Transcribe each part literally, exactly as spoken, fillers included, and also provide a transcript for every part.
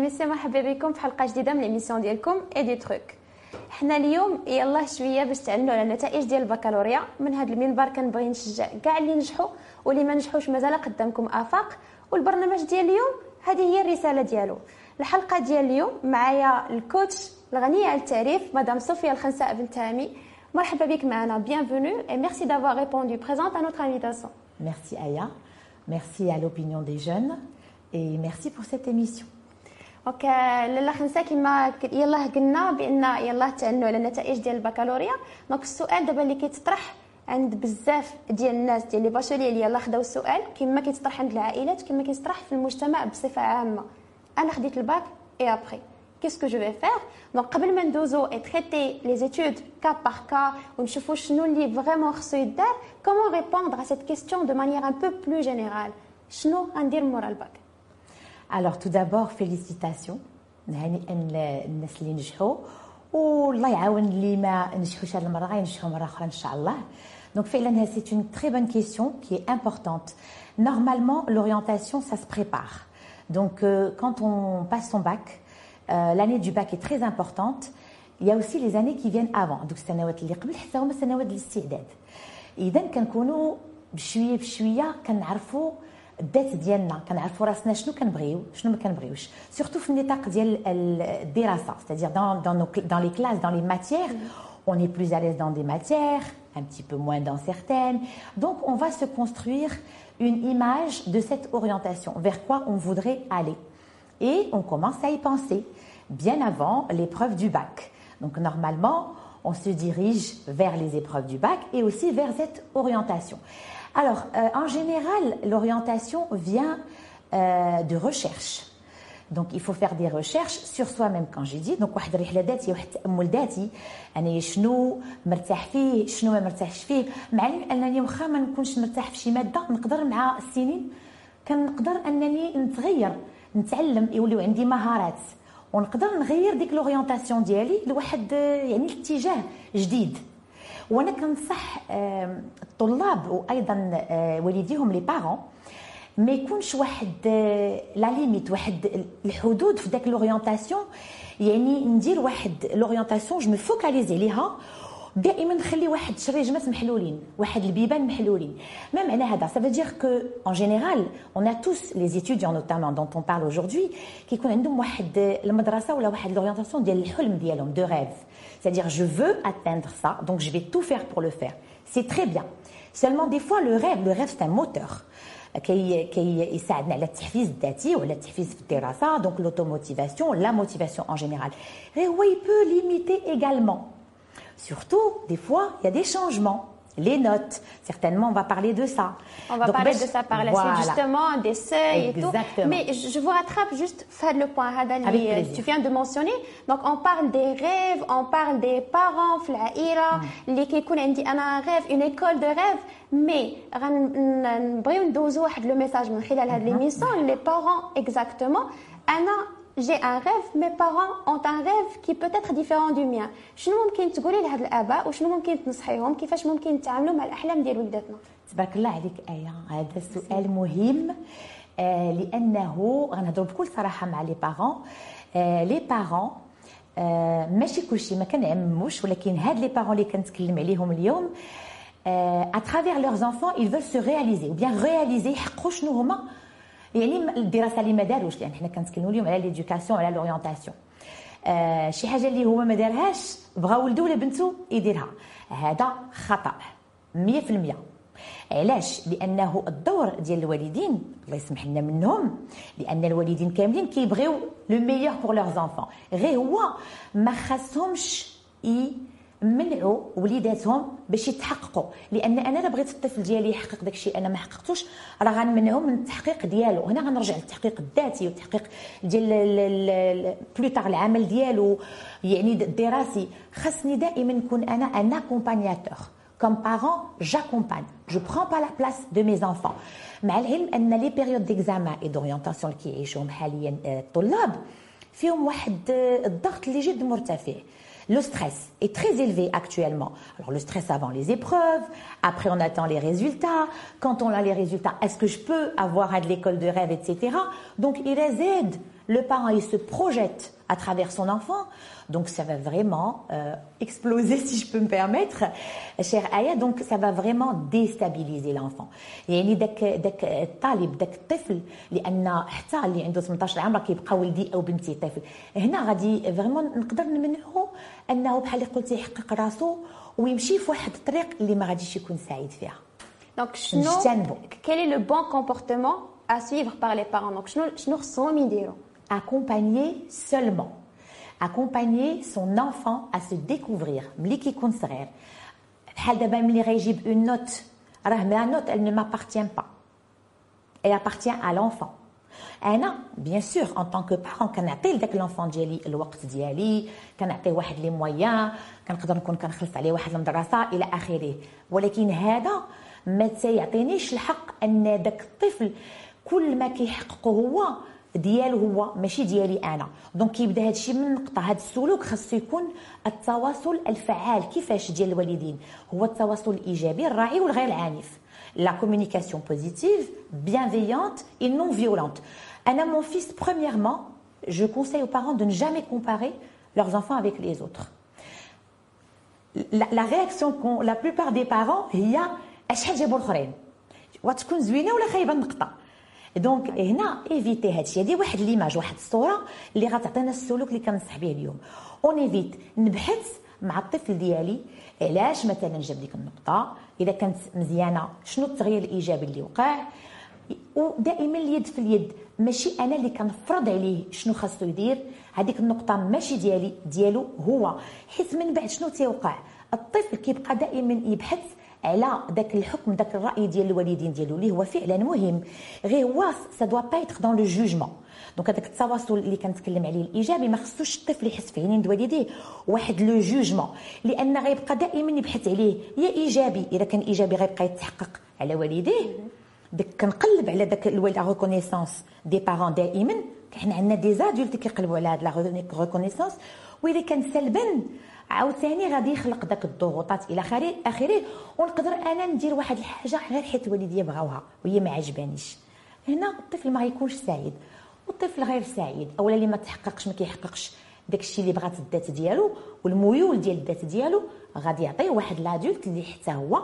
ميسي مرحبا بكم في حلقه جديده من ليميسيون ديالكم اي دي تروك. حنا اليوم يلاه شويه باش تعلموا على النتائج ديال البكالوريا. من هذا المنبر كنبغي نشجع كاع اللي نجحوا واللي ما نجحوش مازال قدامكم افاق، والبرنامج ديال اليوم هذه هي الرساله ديالو. الحلقه ديال اليوم معايا الكوتش الغنيه عن التعريف مدام صوفيا الخنساء بنت هامي. مرحبا بك معنا، bienvenue et merci d'avoir répondu présente à notre invitation. Merci Aya, merci à l'opinion des jeunes et merci pour cette émission. دونك لاله خنساء كما يلاه قلنا بان يلاه تعنوا على النتائج ديال البكالوريا. دونك السؤال دابا اللي كيتطرح عند بزاف ديال الناس ديال لي باشولي اللي يلاه خداو السؤال كما كيتطرح عند العائلات كما كيتطرح في المجتمع بصفه عامه. انا خديت الباك اي ابري qu'est-ce que je vais faire. دونك قبل ما ندوزو et traiter les études cas par cas ونشوفوا شنو اللي فريمون خصو يدار، comment répondre à cette question de manière un peu plus générale. شنو غندير مورا الباك؟ Alors tout d'abord félicitations نهنئ الناس اللي نجحوا والله يعاون اللي ما نجحوش هذه المره غينجحوا مره اخرى ان شاء الله. Donc فعلا c'est une très bonne question qui est importante. Normalement l'orientation ça se prépare. Donc euh, quand on passe son bac, euh, l'année du bac est très importante. Il y a aussi les années qui viennent avant. Donc السنوات اللي قبل حتى هما سنوات الاستعداد. اذا كنكونوا بشويه بشويه كنعرفوا الذات ديالنا، كنعرفوا راسنا شنو كنبغيو شنو ما كنبغيوش، سورتو في النطاق ديال الدراسه. c'est-à-dire dans dans nos dans les classes, dans les matières, on est plus à l'aise dans des matières, un petit peu moins dans certaines. Donc on va se construire une image de cette orientation, vers quoi on voudrait aller. Et on commence à y penser bien avant l'épreuve du bac. Donc normalement, on se dirige vers les épreuves du bac et aussi vers cette orientation. Alors, euh, en général, l'orientation vient euh, de recherche. Donc, il faut faire des recherches sur soi-même, quand j'ai dit. Donc, واحد الرحلة ذاتية، واحد التأمل ذاتي. أنا شنو مرتاح فيه، شنو ما مرتاحش فيه. مع أنني واخا ما نكونش مرتاح في شي مادة، نقدر مع السنين كنقدر أنني نتغير، نتعلم، يوليو عندي مهارات، ونقدر نغير ديك l'orientation ديالي لواحد يعني اتجاه جديد. وانا كنصح الطلاب وايضا والديهم لي بارون ما يكونش واحد لا ليميت، واحد الحدود في داك لورينتاسيون. يعني ندير واحد لورينتاسيون جو مي فوكاليزي ليها، دائما نخلي واحد شريجمات محلولين، واحد البيبان محلولين. ما معنى هذا؟ ça veut dire que en général on a tous les étudiants notamment dont on parle aujourd'hui كيكون عندهم واحد المدرسه ولا واحد لورينتاسيون ديال الحلم ديالهم de rêve. C'est-à-dire je veux atteindre ça, donc je vais tout faire pour le faire. C'est très bien. Seulement des fois le rêve, le rêve c'est un moteur. كي كي يساعدنا على التحفيز الذاتي وعلى التحفيز في الدراسه. Donc l'automotivation, la motivation en général. Et oui, il peut limiter également. Surtout, des fois, il y a des changements. Les notes, certainement, on va parler de ça. On va Donc, parler ben, de ça par la voilà. suite, justement, des seuils Exactement. et tout. Mais je vous rattrape juste faire le point. Avec plaisir. Tu viens de mentionner. Donc, on parle des rêves, on parle des parents, في العائلة اللي كيكون عندي أنا rêve, une école de rêve. Mais غنبغيو ندوزو واحد لو ميساج من خلال هاد l'émission. Les parents, exactement. أنا j'ai un rêve, mes parents ont un rêve qui peut être différent du mien. شنو ممكن تقولي لهاد الآباء وشنو ممكن تنصحيهم كيفاش ممكن يتعاملوا مع الأحلام ديال وليداتنا؟ تبارك الله عليك آية، هذا سؤال مهم آه لأنه غنهضروا بكل صراحة مع لي بارون. آه لي بارون آه ماشي كلشي ما كنعمموش، ولكن هاد لي بارون اللي كنتكلم عليهم اليوم آه à travers leurs enfants ils veulent se réaliser ou bien réaliser، يحققوا شنو هما يعني الدراسه اللي ما داروش، لان حنا كنتكلموا اليوم على ليدوكاسيون على لورينتاسيون. آه شي حاجه اللي هو ما دارهاش بغا ولده ولا بنته يديرها، هذا خطا مية في المية. علاش؟ لانه الدور ديال الوالدين الله يسمح لنا منهم، لان الوالدين كاملين كيبغيو لو ميور بور لور زانفون، غير هو ما خاصهمش منعوا وليداتهم باش يتحققوا. لان انا الا بغيت الطفل ديالي يحقق داك الشيء انا ما حققتوش راه غنمنعو من التحقيق ديالو. هنا غنرجع للتحقيق الذاتي والتحقيق ديال بلوتار العمل ديالو يعني الدراسي. خاصني دائما نكون انا ان اكومبانياتور. Comme parent, j'accompagne. Je prends pas la place de mes enfants. مع العلم ان لي بيريود ديكزامان اي دورينتاسيون اللي كيعيشوهم حاليا الطلاب فيهم واحد الضغط اللي جد مرتفع. Le stress est très élevé actuellement. Alors le stress avant les épreuves, après on attend les résultats. Quand on a les résultats, est-ce que je peux avoir de l'école de rêve, et cetera. Donc il réside le parent il se projette à travers son enfant, donc ça va vraiment euh, exploser si je peux me permettre, chère Aya, donc ça va vraiment déstabiliser l'enfant. يعني داك داك الطالب داك الطفل لان حتى اللي عنده ثمنطاش عام راه كيبقى ولدي او بنتي طفل، هنا غادي فريمون نقدر نمنعه انه بحال اللي قلتي يحقق راسو ويمشي في واحد الطريق اللي ما غاديش يكون سعيد فيها. دونك شنو quel est le bon comportement à suivre par les parents؟ دونك شنو شنو خصهم يديروا؟ accompagner seulement, accompagner son enfant à se découvrir. ملي كيكون صغير بحال دابا ملي غيجيب une note راه la note elle ne m'appartient pas, elle appartient à l'enfant. انا bien sûr en tant que parent كنعطي لذاك l'enfant ديالي الوقت ديالي، كنعطيه واحد لي مويان، كنقدر نكون كنخلص عليه واحد المدرسه الى اخره، ولكن هذا ما تيعطينيش الحق ان داك الطفل كل ما كيحققه هو ديالو هو ماشي ديالي انا. دونك كيبدا هذا الشيء من نقطه، هذا السلوك خاصو يكون التواصل الفعال كيفاش ديال الوالدين، هو التواصل الايجابي الراعي والغير العنيف. La communication positive, bienveillante et non violente. Anna, mon fils, premièrement, je conseille aux parents de ne jamais comparer leurs enfants avec les autres. La, la réaction qu'ont la plupart des parents, هي أشحال جابوا الآخرين وتكون زوينة ولا خايبة النقطة. دونك هنا ايفيتي هادشي، هادي واحد ليماج واحد الصوره اللي غتعطينا السلوك اللي كنصح به اليوم. اون ايفيت نبحث مع الطفل ديالي علاش مثلا جاب ديك النقطه، اذا كانت مزيانه شنو التغيير الايجابي اللي وقع، ودائما اليد في اليد، ماشي انا اللي كنفرض عليه شنو خاصو يدير، هذيك النقطه ماشي ديالي ديالو هو، حيت من بعد شنو تيوقع الطفل كيبقى دائما يبحث على داك الحكم داك الراي ديال الوالدين ديالو اللي هو فعلا مهم، غير هو سا دوا با ايتر دون لو جوجمون. دونك هذاك التواصل اللي كنتكلم عليه الايجابي ما خصوش الطفل يحس في عينين والديه واحد لو جوجمون، لان غيبقى دائما يبحث عليه يا ايجابي، اذا كان ايجابي غيبقى يتحقق على والديه. داك كنقلب على داك لا ريكونيسانس دي بارون دائما، حنا عندنا دي زادولت كيقلبوا على هاد لا ريكونيسانس، واذا كان سلبا عاوتاني غادي يخلق داك الضغوطات الى اخره، ونقدر انا ندير واحد الحاجه غير حيت والديا بغاوها وهي ما عجبانيش. هنا الطفل ما غيكونش سعيد، والطفل غير سعيد اولا اللي ما تحققش ما كيحققش داكشي اللي بغات الذات ديالو والميول ديال الذات ديالو، غادي يعطيه واحد لادولت اللي حتى هو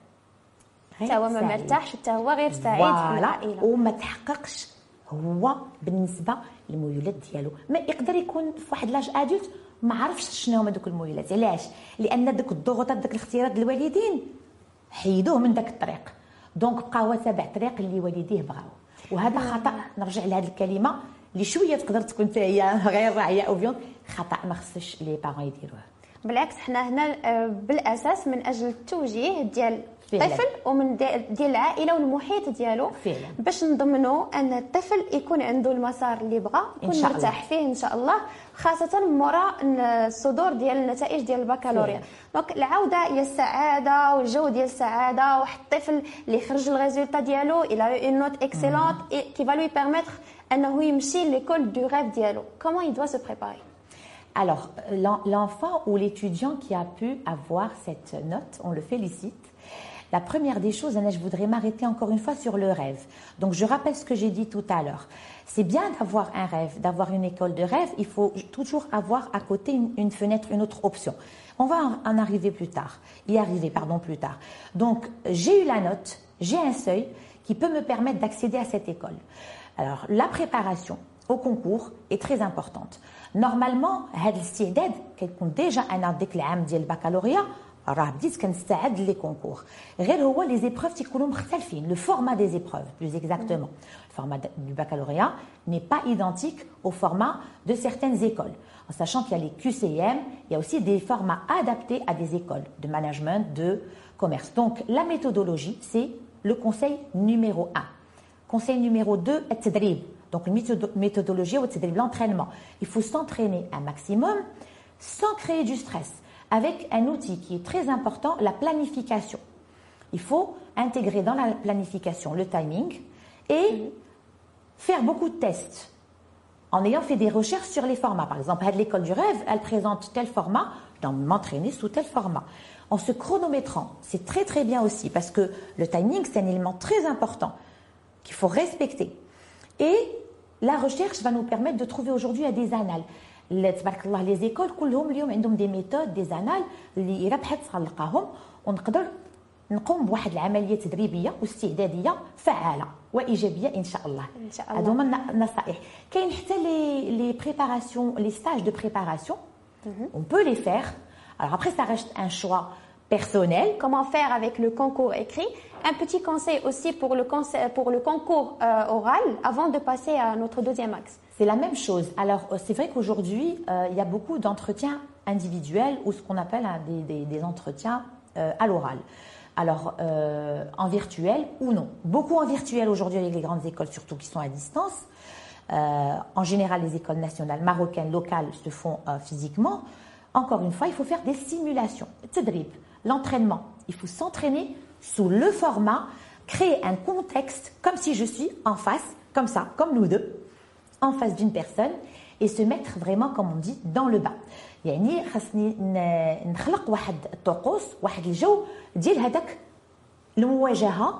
حتى هو ما مرتاحش، حتى هو غير سعيد في العائله وما تحققش هو بالنسبه للميولات ديالو. ما يقدر يكون في واحد لاج ادولت ما عرفش شنو هما دوك الميولات، علاش؟ لان داك الضغوطات داك الاختيارات ديال الوالدين حيدوه من داك الطريق، دونك بقى هو تابع الطريق اللي والديه بغاو، وهذا خطا. نرجع لهذه الكلمه اللي شويه تقدر تكون حتى هي غير راعيه او فيون، خطا ما خصش لي بارون يديروه. بالعكس حنا هنا بالاساس من اجل التوجيه ديال الطفل ومن ديال العائله والمحيط ديالو، فعلا. باش نضمنوا ان الطفل يكون عنده المسار اللي بغى، يكون مرتاح فيه ان شاء الله، خاصه مورا الصدور ديال النتائج ديال البكالوريا. دونك العوده الى السعاده والجو ديال السعاده، واحد الطفل اللي خرج الريزولطا ديالو الى اون نوت اكسيلونت كي فا لوي بيرميتر انه يمشي ليكول دو ريف ديالو. كومون il doit se préparer؟ Alors, l'enfant ou l'étudiant qui a pu avoir cette note, on le félicite. La première des choses, je voudrais m'arrêter encore une fois sur le rêve. Donc, je rappelle ce que j'ai dit tout à l'heure. C'est bien d'avoir un rêve, d'avoir une école de rêve. Il faut toujours avoir à côté une, une fenêtre, une autre option. On va en arriver plus tard, y arriver, pardon, plus tard. Donc, j'ai eu la note, j'ai un seuil qui peut me permettre d'accéder à cette école. Alors, la préparation au concours est très importante. Normalement, هذا الاستعداد كيكون déjà انا ديك العام ديال البكالوريا راه بديت كنستعد لي كونكور، غير هو لي زيبروف تيكونوا مختلفين. لو فورما دي زيبروف plus exactement, le format du baccalauréat n'est pas identique au format de certaines écoles, en sachant qu'il y a les Q C M, il y a aussi des formats adaptés à des écoles de management, de commerce. Donc la méthodologie, c'est le conseil numéro un. Conseil numéro deux, التدريب. Donc une méthodologie ou l'entraînement. Il faut s'entraîner un maximum sans créer du stress, avec un outil qui est très important, la planification. Il faut intégrer dans la planification le timing et faire beaucoup de tests en ayant fait des recherches sur les formats. Par exemple, l'école du rêve, elle présente tel format, je dois m'entraîner sous tel format. En se chronométrant, c'est très très bien aussi parce que le timing, c'est un élément très important qu'il faut respecter. Et la recherche va nous permettre de trouver aujourd'hui des annales. تبارك الله لي زيكول كلهم اليوم عندهم دي ميثود دي زانال اللي الا بحثت غنلقاهم ونقدر نقوم بواحد العمليه تدريبيه واستعداديه فعاله وايجابيه ان شاء الله. ان شاء الله. هادو هما النصائح. كاين حتى لي لي بريباراسيون لي ستاج دو بريباراسيون on peut les faire. Alors après ça reste un choix personnel. Comment faire avec le concours écrit? Un petit conseil aussi pour le, pour le concours euh, oral avant de passer à notre deuxième axe. C'est la même chose. Alors c'est vrai qu'aujourd'hui euh, il y a beaucoup d'entretiens individuels ou ce qu'on appelle hein, des, des, des entretiens euh, à l'oral. Alors euh, en virtuel ou non. Beaucoup en virtuel aujourd'hui avec les grandes écoles surtout qui sont à distance. Euh, en général les écoles nationales marocaines locales se font euh, physiquement. Encore une fois il faut faire des simulations. Tadrib, l'entraînement. Il faut s'entraîner sous le format, créer un contexte comme si je suis en face, comme ça, comme nous deux, en face d'une personne et se mettre vraiment, comme on dit, dans le bas. يعني خاصني نخلق واحد الطقوس واحد الجو ديال هذاك المواجهه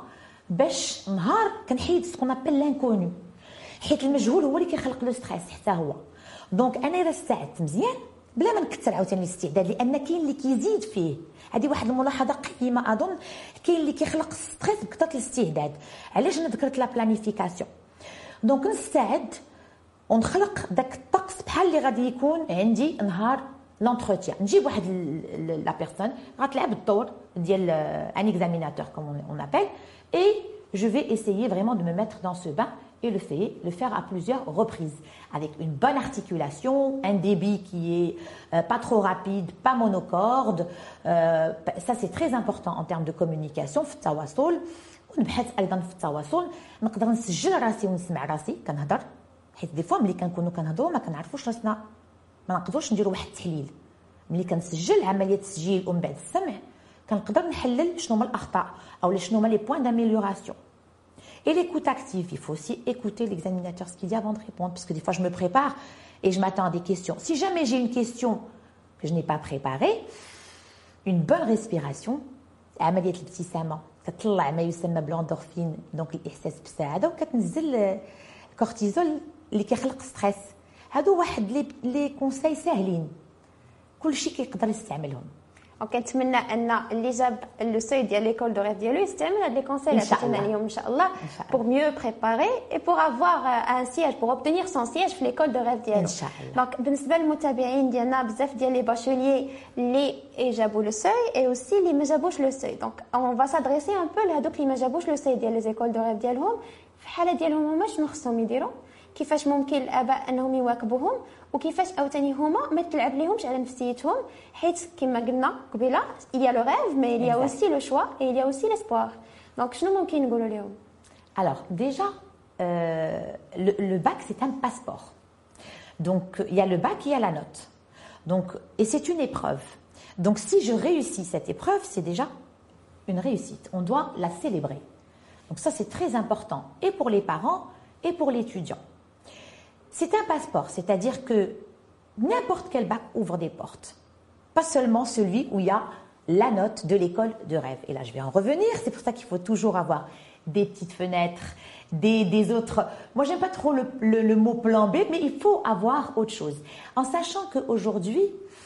باش نهار كنحيد سكون ابل لانكونو حيت المجهول هو اللي كيخلق لو ستريس حتى هو. دونك انا الا استعدت مزيان بلا ما نكثر عاوتاني الاستعداد لان كاين اللي كيزيد فيه. هذه واحد الملاحظه قيمه اظن. كاين اللي كيخلق ستريس بكثره الاستعداد. علاش انا ذكرت لا بلانيفيكاسيون؟ دونك نستعد ونخلق داك الطقس بحال اللي غادي يكون عندي نهار لونتروتيان. نجيب واحد لا بيرسون غتلعب الدور ديال ان اكزاميناتور كوم اون ابل اي je vais essayer vraiment de me mettre dans ce bain et le faire, le faire à plusieurs reprises avec une bonne articulation, un débit qui est euh, pas trop rapide, pas monocorde. Euh, ça c'est très important en termes de communication في التواصل. ونبحث ايضا في التواصل نقدر نسجل راسي ونسمع راسي كنهضر حيت دي فوا ملي كنكونوا كنهضروا ما كنعرفوش راسنا ما نقدروش نديروا واحد التحليل. ملي كنسجل عمليه التسجيل ومن بعد السمع كنقدر نحلل شنو هما الاخطاء او شنو هما لي بوين d'amélioration. Et l'écoute active, il faut aussi écouter l'examinateur ce qu'il dit avant de répondre parce que des fois je me prépare et je m'attends à des questions. Si jamais j'ai une question que je n'ai pas préparée, une bonne respiration, عمليه الابتسامه كتطلع ما يسمى بلوندورفين دونك الاحساس بالسعاده وكتنزل الكورتيزول اللي كيخلق ستريس. هادو واحد لي لي كونساي ساهلين كلشي كيقدر يستعملهم. وكنتمنى ان اللي جاب لو سوي ديال ليكول دو ريف ديالو يستعمل هاد لي كونساي اللي عطينا اليوم ان شاء الله pour mieux préparer et pour avoir un siège pour obtenir son siège في ليكول دو ريف ديالو ان شاء الله. دونك بالنسبه للمتابعين ديالنا بزاف ديال لي باشوليي اللي جابوا لو سوي اي اوسي اللي ما جابوش لو سوي دونك اون فا سادريسي ان بو لهادوك اللي ما جابوش لو سوي ديال لي زيكول دو ريف ديالهم. في الحاله ديالهم هما شنو خصهم يديروا كيفاش ممكن الاباء انهم يواكبوهم وكيفاش عاوتاني هما ما تلعب ليهمش على نفسيتهم حيت كما قلنا قبيله il y a le rêve mais il y a aussi le choix et il y a aussi l'espoir. دونك شنو ممكن نقولوا لهم؟ Alors déjà euh, le, le bac c'est un passeport. Donc il y a le bac et il y a la note. Donc et c'est une épreuve. Donc si je réussis cette épreuve, c'est déjà une réussite. On doit la célébrer. Donc ça c'est très important et pour les parents et pour l'étudiant. C'est un passeport, c'est-à-dire que n'importe quel bac ouvre des portes. Pas seulement celui où il y a la note de l'école de rêve. Et là, je vais en revenir. C'est pour ça qu'il faut toujours avoir des petites fenêtres, des, des autres... Moi, j'aime pas trop le, le, le mot plan B, mais il faut avoir autre chose. En sachant qu'aujourd'hui,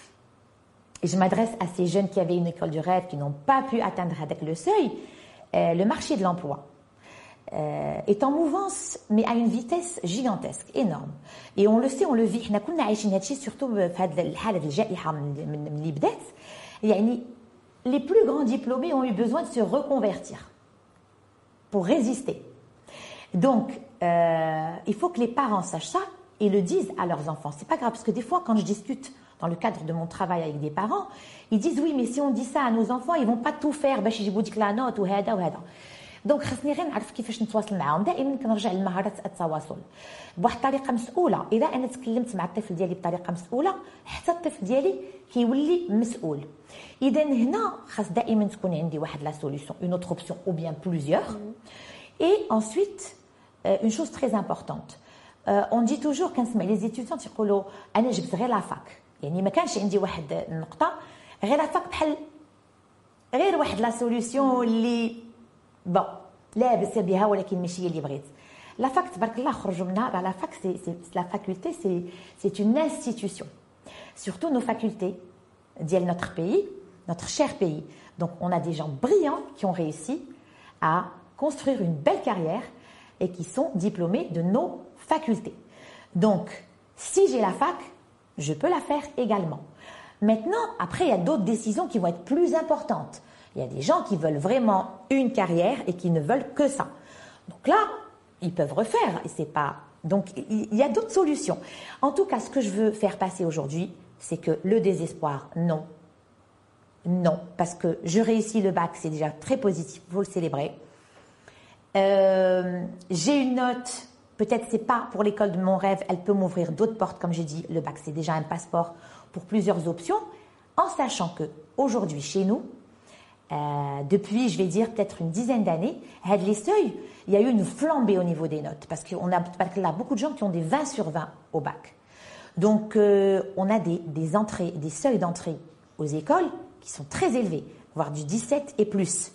et je m'adresse à ces jeunes qui avaient une école du rêve, qui n'ont pas pu atteindre avec le seuil, euh, le marché de l'emploi Euh, est en mouvance, mais à une vitesse gigantesque, énorme. Et on le sait, on le vit. حنا كنا عايشين هادشي surtout في هذه الحالة الجائحة من اللي بدات. يعني les plus grands diplômés ont eu besoin de se reconvertir pour résister. Donc, euh, il faut que les parents sachent ça et le disent à leurs enfants. C'est pas grave parce que des fois, quand je discute dans le cadre de mon travail avec des parents, ils disent oui, mais si on dit ça à nos enfants, ils vont pas tout faire باش يجيبوا ديك la note وهذا وهذا. دونك خاصني غير نعرف كيفاش نتواصل معاهم. دائما كنرجع لمهارات التواصل بواحد الطريقه مسؤوله. اذا انا تكلمت مع الطفل ديالي بطريقه مسؤوله حتى الطفل ديالي كيولي مسؤول. اذا هنا خاص دائما تكون عندي واحد لا سوليوشن اون اوتر اوبسيون او بيان بلوزيور. اي انsuite اون شوز تري امبورطونت اون دي توجور كنسمع لي زيتيديون تيقولوا انا جبت غير لافاك. يعني ما كانش عندي واحد النقطه غير لافاك بحال غير واحد لا سوليوشن اللي بون لاباس بها ولكن ماشي هي اللي بغيت. La fac, tabarakallah, خرجوا منها. La fac, c'est, c'est, la faculté, c'est, c'est une institution. Surtout nos facultés, d'il notre pays, notre cher pays. Donc, on a des gens brillants qui ont réussi à construire une belle carrière et qui sont diplômés de nos facultés. Donc, si j'ai la fac, je peux la faire également. Maintenant, après, il y a d'autres décisions qui vont être plus importantes. Il y a des gens qui veulent vraiment une carrière et qui ne veulent que ça. Donc là, ils peuvent refaire et c'est pas. Donc, il y a d'autres solutions. En tout cas, ce que je veux faire passer aujourd'hui, c'est que le désespoir, non. Non, parce que je réussis le bac, c'est déjà très positif, il faut le célébrer. Euh, j'ai une note, peut-être c'est pas pour l'école de mon rêve, elle peut m'ouvrir d'autres portes, comme j'ai dit, le bac c'est déjà un passeport pour plusieurs options, en sachant que aujourd'hui chez nous, euh, depuis je vais dire peut-être une dizaine d'années, les seuils, il y a eu une flambée au niveau des notes, parce qu'on a là, beaucoup de gens qui ont des vingt sur vingt au bac. Donc euh, on a des, des entrées, des seuils d'entrée aux écoles qui sont très élevés, voire du dix-sept et plus.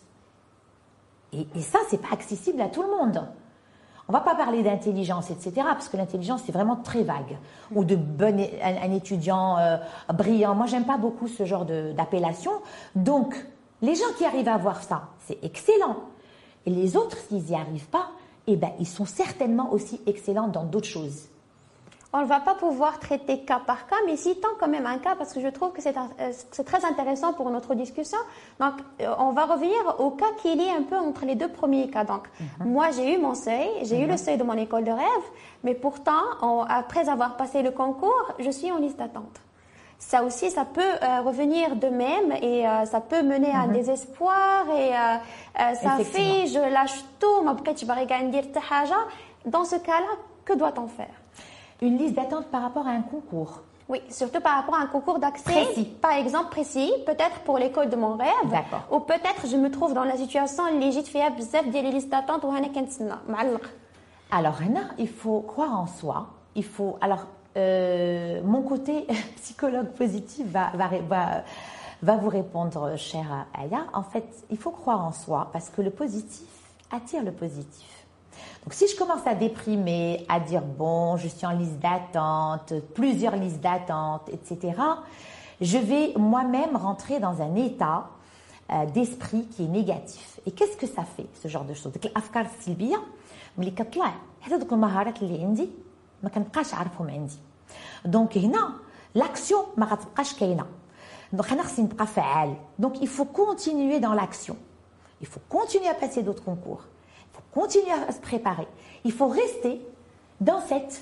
Et, et ça, c'est pas accessible à tout le monde. On va pas parler d'intelligence, et cetera, parce que l'intelligence, c'est vraiment très vague. Ou de bon, un, un étudiant euh, brillant. Moi, j'aime pas beaucoup ce genre de, d'appellation. Donc, les gens qui arrivent à avoir ça, c'est excellent. Et les autres, s'ils n'y arrivent pas, eh ben, ils sont certainement aussi excellents dans d'autres choses. On ne va pas pouvoir traiter cas par cas, mais citons quand même un cas parce que je trouve que c'est, un, c'est très intéressant pour notre discussion. Donc, on va revenir au cas qui est lié un peu entre les deux premiers cas. Donc, mm-hmm. moi, j'ai eu mon seuil, j'ai mm-hmm. eu le seuil de mon école de rêve, mais pourtant, on, après avoir passé le concours, je suis en liste d'attente. Ça aussi, ça peut euh, revenir de même et euh, ça peut mener à un mm-hmm. désespoir et euh, euh, ça fait, je lâche tout, ma petite barriga dire haja. Dans ce cas-là, que doit-on faire? Une liste d'attente par rapport à un concours. Oui, surtout par rapport à un concours d'accès. Précis. Par exemple, précis, peut-être pour l'école de mon rêve. D'accord. Ou peut-être je me trouve dans la situation اللي جيت فيها بزاف ديال les listes d'attente وأنا كنتسنى معلق. Alors, Rena, il faut croire en soi. Il faut. Alors, euh, mon côté psychologue positif va, va, va, va vous répondre, chère Aya. En fait, il faut croire en soi parce que le positif attire le positif. Donc, si je commence à déprimer, à dire bon, je suis en liste d'attente, plusieurs listes d'attente, et cetera, je vais moi-même rentrer dans un état euh, d'esprit qui est négatif. Et qu'est-ce que ça fait, ce genre de choses? Donc, l'afkar silbiya, ملي كطلع حتى دوك المهارات اللي عندي ما كنبقاش عارفهم عندي. Donc, هنا l'action ما غتبقاش كاينه. Donc, انا خصني نبقى فعال. Donc, il faut continuer dans l'action. Il faut continuer à passer d'autres concours. Il faut continuer à se préparer. Il faut rester dans cette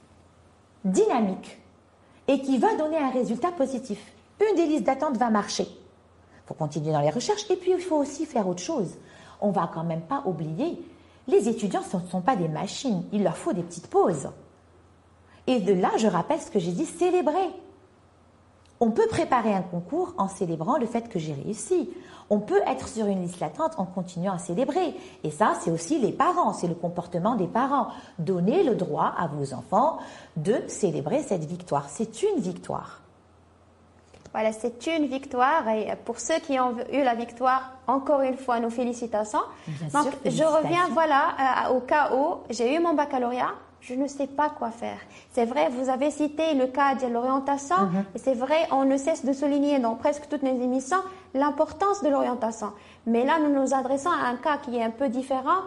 dynamique et qui va donner un résultat positif. Une des listes d'attente va marcher. Il faut continuer dans les recherches et puis il faut aussi faire autre chose. On ne va quand même pas oublier, les étudiants ce ne sont pas des machines, il leur faut des petites pauses. Et de là, je rappelle ce que j'ai dit, célébrer. On peut préparer un concours en célébrant le fait que j'ai réussi. On peut être sur une liste d'attente en continuant à célébrer. Et ça, c'est aussi les parents, c'est le comportement des parents. Donnez le droit à vos enfants de célébrer cette victoire. C'est une victoire. Voilà, c'est une victoire. Et pour ceux qui ont eu la victoire, encore une fois, nos félicitations. Bien Donc, sûr, je félicitations. reviens voilà, au cas où j'ai eu mon baccalauréat. Je ne sais pas quoi faire. C'est vrai, vous avez cité le cas de l'orientation, mm-hmm. et c'est vrai, on ne cesse de souligner dans presque toutes les émissions l'importance de l'orientation. Mais là, nous nous adressons à un cas qui est un peu différent.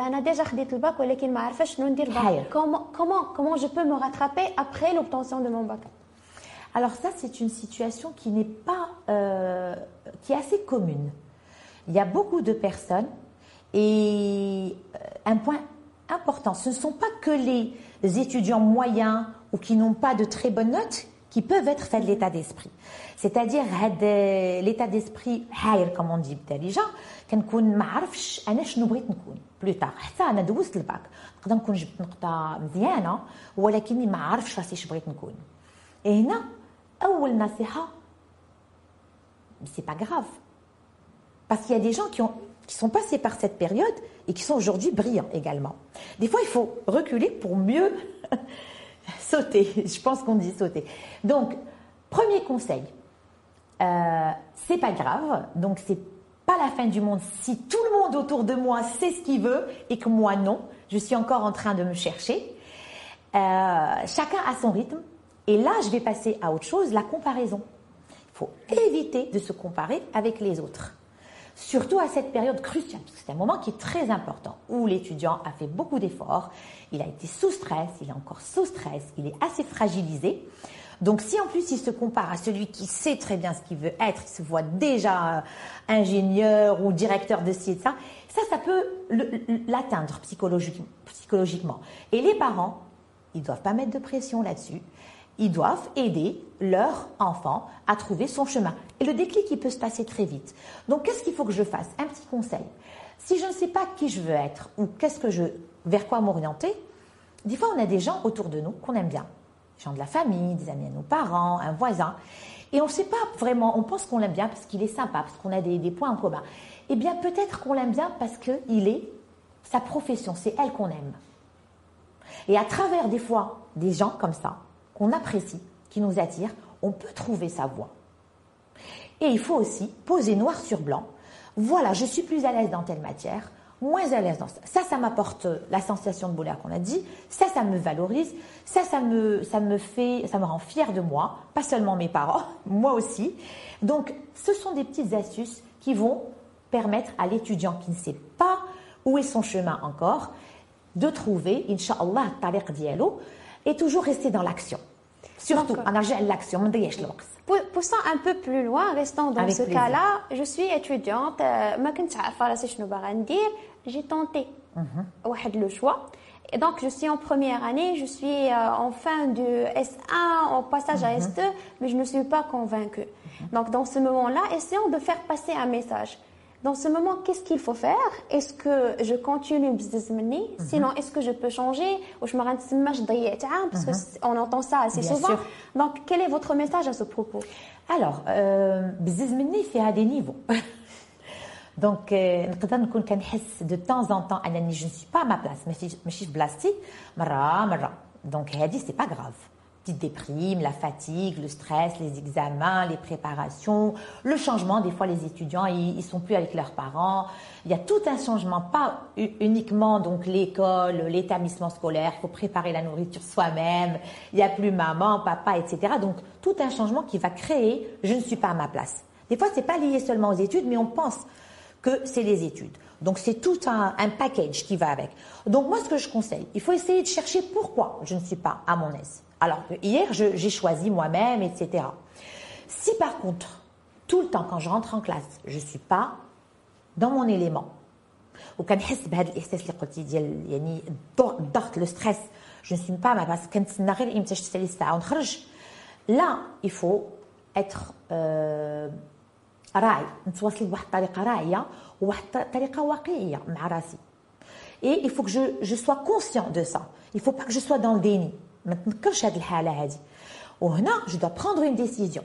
Comment, comment, comment je peux me rattraper après l'obtention de mon bac? Alors ça, c'est une situation qui n'est pas, euh, qui est assez commune. Il y a beaucoup de personnes et un point important, ce ne sont pas que les étudiants moyens ou qui n'ont pas de très bonnes notes qui peuvent être faits de l'état d'esprit. C'est-à-dire l'état d'esprit حاير comme on dit déjà كنكون ما عرفش انا شنو بغيت نكون plus tard حتى انا دوزت الباك نقدر نكون جبت نقطه مزيانه ولكني ما عرفتش راسي اش بغيت نكون. هنا اول نصيحه c'est pas grave parce qu'il y a des gens qui ont qui sont passés par cette période et qui sont aujourd'hui brillants également. Des fois, il faut reculer pour mieux sauter. Je pense qu'on dit sauter. Donc, premier conseil, euh, c'est pas grave. Donc, c'est pas la fin du monde si tout le monde autour de moi sait ce qu'il veut et que moi non. Je suis encore en train de me chercher. Euh, chacun a son rythme. Et là, je vais passer à autre chose, la comparaison. Il faut éviter de se comparer avec les autres. Surtout à cette période cruciale, parce que c'est un moment qui est très important, où l'étudiant a fait beaucoup d'efforts, il a été sous stress, il est encore sous stress, il est assez fragilisé. Donc si en plus il se compare à celui qui sait très bien ce qu'il veut être, il se voit déjà ingénieur ou directeur de ci et de ça, ça, ça peut l'atteindre psychologiquement. Et les parents, ils ne doivent pas mettre de pression là-dessus. Ils doivent aider leur enfant à trouver son chemin. Et le déclic, il peut se passer très vite. Donc, qu'est-ce qu'il faut que je fasse? Un petit conseil. Si je ne sais pas qui je veux être ou qu'est-ce que je, vers quoi m'orienter, des fois, on a des gens autour de nous qu'on aime bien. Des gens de la famille, des amis à nos parents, un voisin. Et on ne sait pas vraiment, on pense qu'on l'aime bien parce qu'il est sympa, parce qu'on a des, des points en commun. Eh bien, peut-être qu'on l'aime bien parce qu'il est sa profession, c'est elle qu'on aime. Et à travers des fois des gens comme ça, qu'on apprécie, qui nous attirent, on peut trouver sa voie. Et il faut aussi poser noir sur blanc. Voilà, je suis plus à l'aise dans telle matière, moins à l'aise dans ça. Ça, ça m'apporte la sensation de bonheur qu'on a dit. Ça, ça me valorise. Ça, ça me, ça me fait, ça me rend fière de moi. Pas seulement mes parents, moi aussi. Donc, ce sont des petites astuces qui vont permettre à l'étudiant qui ne sait pas où est son chemin encore, de trouver, Inch'Allah, tariq dialo, et toujours rester dans l'action. Surtout, en argent l'action, poussant un peu plus loin, restant dans Avec ce plaisir. cas-là, je suis étudiante, ما كنتش عارفة راسي شنو باغا ندير, j'ai tenté واحد le choix. Et donc, je suis en première année, je suis euh, en fin de S un, en passage à S deux, mais je ne suis pas convaincue. Donc, dans ce moment-là, essayons de faire passer un message. Dans ce moment, qu'est-ce qu'il faut faire? Est-ce que je continue business money? Sinon, est-ce que je peux changer? Ou je me rends parce qu'on entend ça assez Bien souvent. sûr. Donc, quel est votre message à ce propos? Alors, euh, business money fait à des niveaux. Donc, euh, نقدر نكون كنحس de temps en temps أنني je ne suis pas à ma place, ماشي ماشي في بلاصتي مرة مرة. Donc, هذه c'est pas grave. Petite déprime, la fatigue, le stress, les examens, les préparations, le changement. Des fois, les étudiants, ils, ils sont plus avec leurs parents. Il y a tout un changement, pas uniquement donc l'école, l'établissement scolaire. Il faut préparer la nourriture soi-même. Il y a plus maman, papa, et cetera. Donc, tout un changement qui va créer « je ne suis pas à ma place ». Des fois, c'est pas lié seulement aux études, mais on pense que c'est les études. Donc, c'est tout un, un package qui va avec. Donc, moi, ce que je conseille, il faut essayer de chercher pourquoi je ne suis pas à mon aise. Alors que hier, je- j'ai choisi moi-même, et cetera. Si par contre, tout le temps, quand je rentre en classe, je ne suis pas dans mon élément, وكنحس بهذا الاحساس اللي قلتي ديال يعني الضغط الضغط لو ستريس جو ne suis pas à ma place كنتسنى غير امتى تشتري الساعه ونخرج لا il faut être euh, راعي نتواصل بواحد الطريقه راعيه وواحد الطريقه واقعيه مع راسي. Et il faut que je, je sois conscient de ça. Il ne faut pas que je sois dans le déni. ما تنكرش هذه الحاله هذه. وهنا je dois prendre une décision.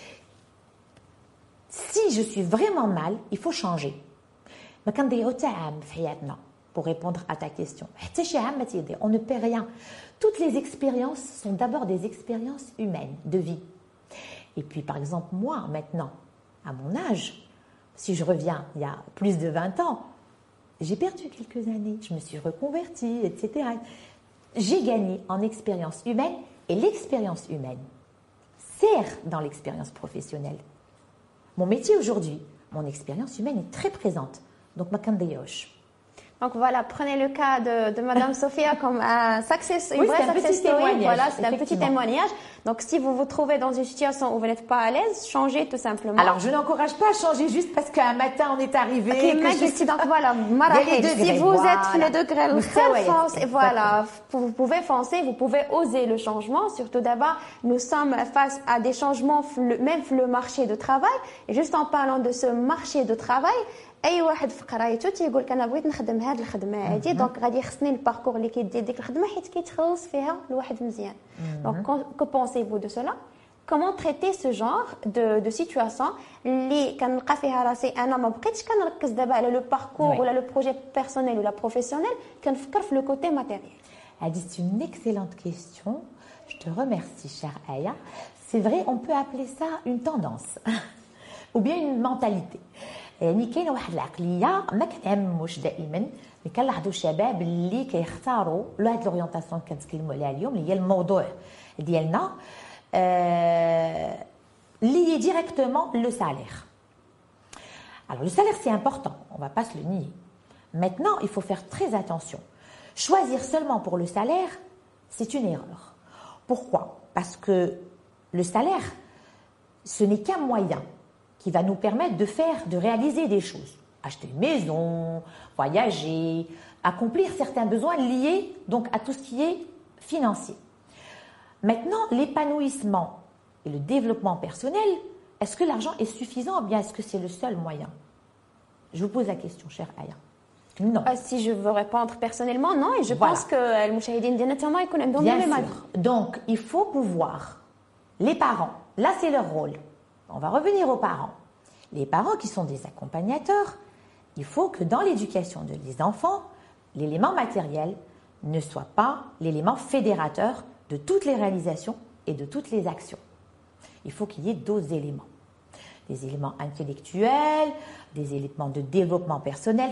Si je suis vraiment mal, il faut changer. ما كنضيعوا حتى عام في حياتنا pour répondre à ta question. حتى شي عام ما تيضيع. On ne perd rien. Toutes les expériences sont d'abord des expériences humaines de vie. Et puis par exemple moi maintenant, à mon âge, si je reviens il y a plus de vingt ans, j'ai perdu quelques années, je me suis reconvertie, et cetera. J'ai gagné en expérience humaine et l'expérience humaine sert dans l'expérience professionnelle. Mon métier aujourd'hui, mon expérience humaine est très présente. Donc, ma kandayosh. Donc voilà, prenez le cas de, de Madame Sophia comme un success, une Oui, vraie c'est un success petit story. témoignage, Voilà, c'est un petit effectivement. témoignage. Donc si vous vous trouvez dans une situation où vous n'êtes pas à l'aise, changez tout simplement. Alors, je n'encourage pas à changer juste parce qu'un matin on est arrivé. Ok, que mais je je suis- donc voilà, Il y a les marahil. degrés, Si vous voilà. êtes le degré le Moustaouayat, foncez, voilà, exactement. vous pouvez foncer, vous pouvez oser le changement. Surtout d'abord, nous sommes face à des changements, le- même le marché de travail. Et juste en parlant de ce marché de travail, اي واحد في قرايته تيقول لك انا بغيت نخدم هذه الخدمه هذه دونك غادي يخصني الباركور اللي كيدير ديك الخدمه حيت كيتخلص فيها الواحد مزيان. Donc que pensez-vous de cela? Comment traiter ce genre de de situation اللي كنلقى فيها راسي انا ما بقيتش كنركز دابا على لو باركور Oui. ولا لو بروجي بيرسونيل ولا بروفيسيونيل كنفكر في لو كوتي ماتيريال. Elle dit, c'est une excellente question. Je te remercie, chère Aya. C'est vrai, on peut appeler ça une tendance ou bien une mentalité. يعني كاينه واحد العقليه ما كتعمموش دائما، ملي كنلاحظوا الشباب اللي كيختاروا هاد لورينتاسيون كنتكلموا عليها اليوم اللي هي الموضوع ديالنا euh, lié directement le salaire. Alors le salaire c'est important, on ne va pas se le nier. Maintenant, il faut faire très attention. Choisir seulement pour le salaire, c'est une erreur. Pourquoi? Parce que le salaire, ce n'est qu'un moyen qui va nous permettre de faire, de réaliser des choses. Acheter une maison, voyager, accomplir certains besoins liés donc à tout ce qui est financier. Maintenant, l'épanouissement et le développement personnel, est-ce que l'argent est suffisant ou bien est-ce que c'est le seul moyen? Je vous pose la question, chère Aya. Non. Euh, si je veux répondre personnellement, non. Et je voilà. pense que le mouchahidine directement ils connaissent bien les sûr. Donc, il faut pouvoir, les parents, là c'est leur rôle. On va revenir aux parents. Les parents qui sont des accompagnateurs, il faut que dans l'éducation des enfants, l'élément matériel ne soit pas l'élément fédérateur de toutes les réalisations et de toutes les actions. Il faut qu'il y ait d'autres éléments. Des éléments intellectuels, des éléments de développement personnel,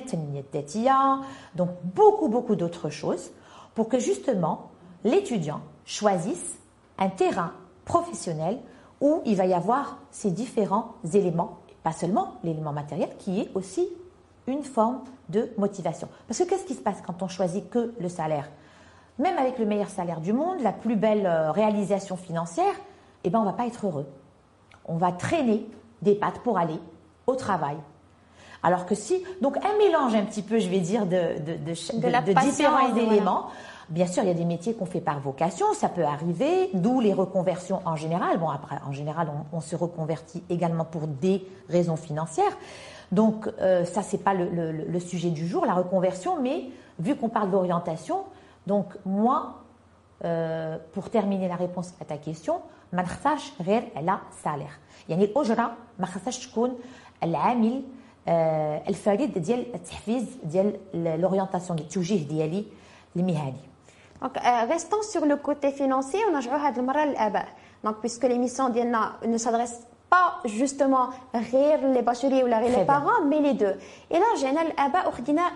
donc beaucoup, beaucoup d'autres choses pour que justement l'étudiant choisisse un terrain professionnel où il va y avoir ces différents éléments, pas seulement l'élément matériel qui est aussi une forme de motivation. Parce que qu'est-ce qui se passe quand on choisit que le salaire? Même avec le meilleur salaire du monde, la plus belle réalisation financière, eh ben on ne va pas être heureux. On va traîner des pattes pour aller au travail. Alors que si, donc un mélange un petit peu, je vais dire, de, de, de, de, de, de différents éléments. Voilà. Bien sûr, il y a des métiers qu'on fait par vocation, ça peut arriver, d'où les reconversions en général. Bon, après, en général, on, on se reconvertit également pour des raisons financières. Donc, euh, ça, c'est pas le, le, le sujet du jour, la reconversion, mais vu qu'on parle d'orientation, donc moi, euh, pour terminer la réponse à ta question, ما نختارش غير على salaire. يعني الأجرة ما خصهاش تكون العامل الفريد ديال التحفيز ديال l'orientation التوجيه ديالي المهني. Donc, euh, restons sur le côté financier, on a joué à l'Abba. Donc, puisque l'émission ne s'adresse pas justement غير les bacheliers ou les parents, mais les deux. Et là, j'ai l'Abba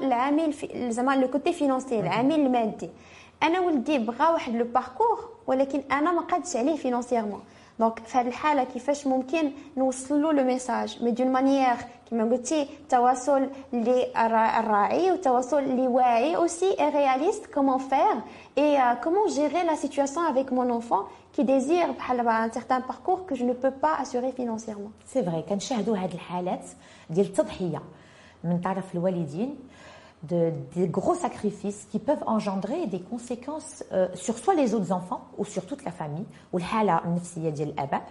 le côté financier, العامل المادي. أنا ولدي بغى واحد لو باركور ولكن أنا ما قادش عليه فينانسييرمون. دونك في هذه الحالة كيفاش ممكن نوصل له لو ميساج مي دون مانيير كما قلتي تواصل اللي الراعي وتواصل اللي واعي aussi et réaliste comment faire et euh, comment gérer la situation avec mon enfant qui désire بحال un certain parcours que je ne peux pas assurer financièrement. C'est vrai كنشاهدوا هذه الحالات ديال التضحية من طرف الوالدين de des gros sacrifices qui peuvent engendrer des conséquences euh, sur soit les autres enfants ou sur toute la famille ou الحالة النفسية ديال الآباء.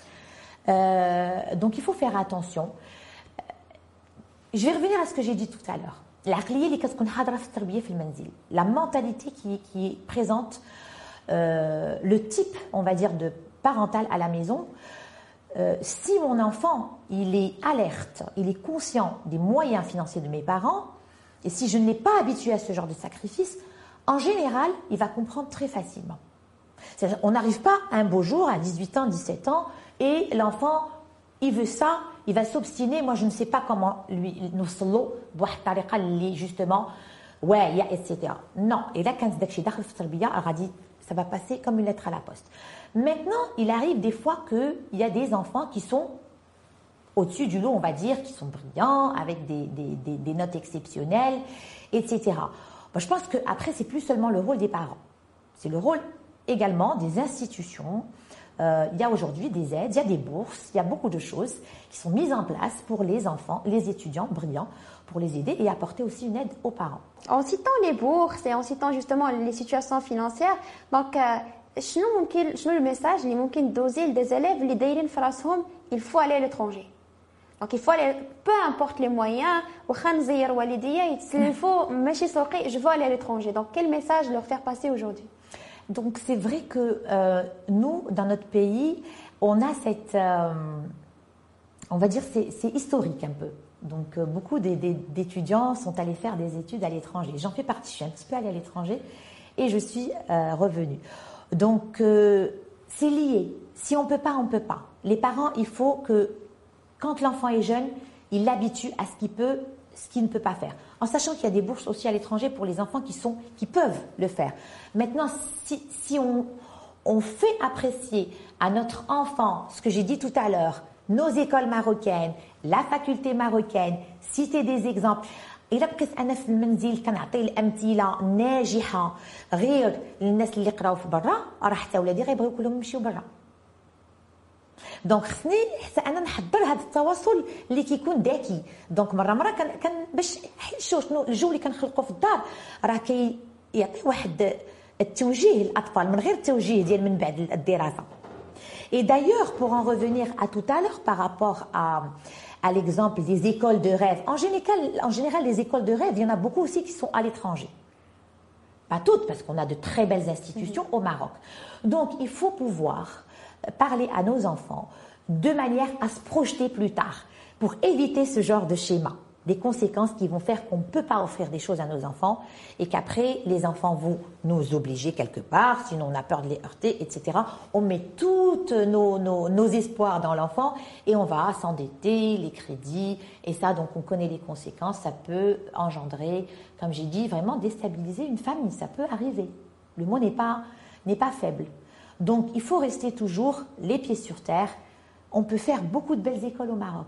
Donc il faut faire attention. Je vais revenir à ce que j'ai dit tout à l'heure. العقلية اللي كتكون حاضرة في التربية في المنزل. La mentalité qui qui est présente, euh, le type, on va dire, de parental à la maison. Euh, si mon enfant, il est alerte, il est conscient des moyens financiers de mes parents. Et si je ne l'ai pas habitué à ce genre de sacrifice, en général, il va comprendre très facilement. C'est-à-dire, on n'arrive pas un beau jour à dix-huit ans, dix-sept ans, et l'enfant, il veut ça, il va s'obstiner. Moi, je ne sais pas comment lui nous solo, justement, ouais, il y a, et cetera. Non. Et là, quand ça va passer comme une lettre à la poste. Maintenant, il arrive des fois qu'il y a des enfants qui sont au-dessus du lot, on va dire, qui sont brillants, avec des, des, des, des notes exceptionnelles, et cetera. Bon, je pense qu'après, c'est plus seulement le rôle des parents. C'est le rôle également des institutions. Euh, il y a aujourd'hui des aides, il y a des bourses, il y a beaucoup de choses qui sont mises en place pour les enfants, les étudiants brillants, pour les aider et apporter aussi une aide aux parents. En citant les bourses et en citant justement les situations financières, donc, شنو ممكن شنو الميساج اللي ممكن دوزي des élèves اللي دايرين في راسهم il faut aller à l'étranger. Donc il faut aller, peu importe les moyens, je veux aller à l'étranger. Donc quel message leur faire passer aujourd'hui? Donc c'est vrai que euh, nous, dans notre pays, on a cette, euh, on va dire, c'est, c'est historique un peu. Donc euh, beaucoup des, des, d'étudiants sont allés faire des études à l'étranger. J'en fais partie, je suis un petit peu allée à l'étranger et je suis euh, revenue. Donc euh, c'est lié. Si on peut pas, on peut pas. Les parents, il faut que quand l'enfant est jeune, il l'habitue à ce qu'il peut, ce qu'il ne peut pas faire. En sachant qu'il y a des bourses aussi à l'étranger pour les enfants qui, sont, qui peuvent le faire. Maintenant, si, si on, on fait apprécier à notre enfant ce que j'ai dit tout à l'heure, nos écoles marocaines, la faculté marocaine, citer des exemples. إلا بقيت أنا في المنزل كنعطي الأمثلة ناجحة غير للناس اللي قراو في برا راه حتى ولادي غيبغيو كلهم يمشيو برا. دونك خصني حتى انا نحضر هذا التواصل اللي كيكون ذكي. دونك مره مره كان كان باش حيت شنو الجو اللي كنخلقوا في الدار راه كيعطي واحد التوجيه للاطفال من غير التوجيه ديال من بعد الدراسه. Et d'ailleurs, pour en revenir à tout à l'heure par rapport à, à l'exemple des écoles de rêve, en général, en général, les écoles de rêve, il y en a beaucoup aussi qui sont à l'étranger. Pas toutes, parce qu'on a de très belles institutions au Maroc. Donc, il faut pouvoir parler à nos enfants de manière à se projeter plus tard pour éviter ce genre de schéma, des conséquences qui vont faire qu'on ne peut pas offrir des choses à nos enfants et qu'après les enfants vont nous obliger quelque part, sinon on a peur de les heurter, et cetera. On met tous nos, nos, nos espoirs dans l'enfant et on va s'endetter, les crédits, et ça donc on connaît les conséquences, ça peut engendrer, comme j'ai dit, vraiment déstabiliser une famille, ça peut arriver. Le mot n'est pas, n'est pas faible. Donc il faut rester toujours les pieds sur terre. On peut faire beaucoup de belles écoles au Maroc.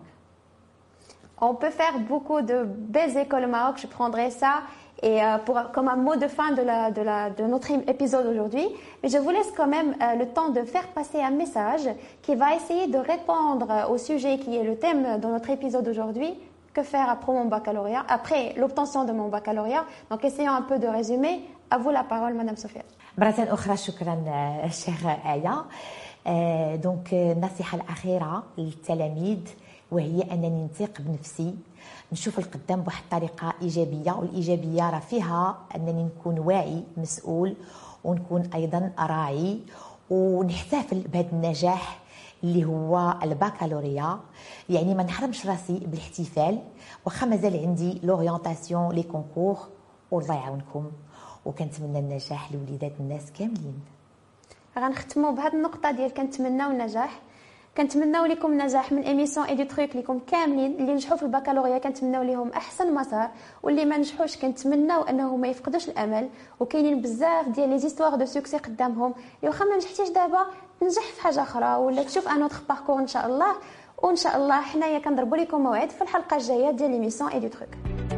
On peut faire beaucoup de belles écoles au Maroc, je prendrai ça et euh, pour, comme un mot de fin de, la, de, la, de notre épisode aujourd'hui. Mais je vous laisse quand même euh, le temps de faire passer un message qui va essayer de répondre au sujet qui est le thème de notre épisode aujourd'hui. Que faire après mon baccalauréat, après l'obtention de mon baccalauréat. Donc essayons un peu de résumer. À vous la parole, Madame Sophia. مرة أخرى شكرا شيخ آية. دونك النصيحة الأخيرة للتلاميذ وهي أنني نثق بنفسي نشوف القدام بواحد الطريقة إيجابية والإيجابية راه فيها أنني نكون واعي مسؤول ونكون أيضا راعي ونحتفل بهذا النجاح اللي هو الباكالوريا. يعني ما نحرمش راسي بالاحتفال واخا مازال عندي لورينتاسيون لي كونكور والله يعاونكم وكنتمنى النجاح لوليدات الناس كاملين. غنختموا بهذه النقطه ديال كنتمناو النجاح. كنتمناو لكم النجاح من ايميسيون ايدي تروك لكم كاملين. اللي نجحوا في البكالوريا كنتمناو لهم احسن مسار واللي ما نجحوش كنتمناو انهم ما يفقدوش الامل. وكاينين بزاف ديال لي زيستوار دو سوكسي قدامهم اللي واخا ما نجحتيش دابا تنجح في حاجه اخرى ولا تشوف ان اوتر باركور ان شاء الله. وان شاء الله حنايا كنضربوا لكم موعد في الحلقه الجايه ديال ايميسيون ايدي تروك.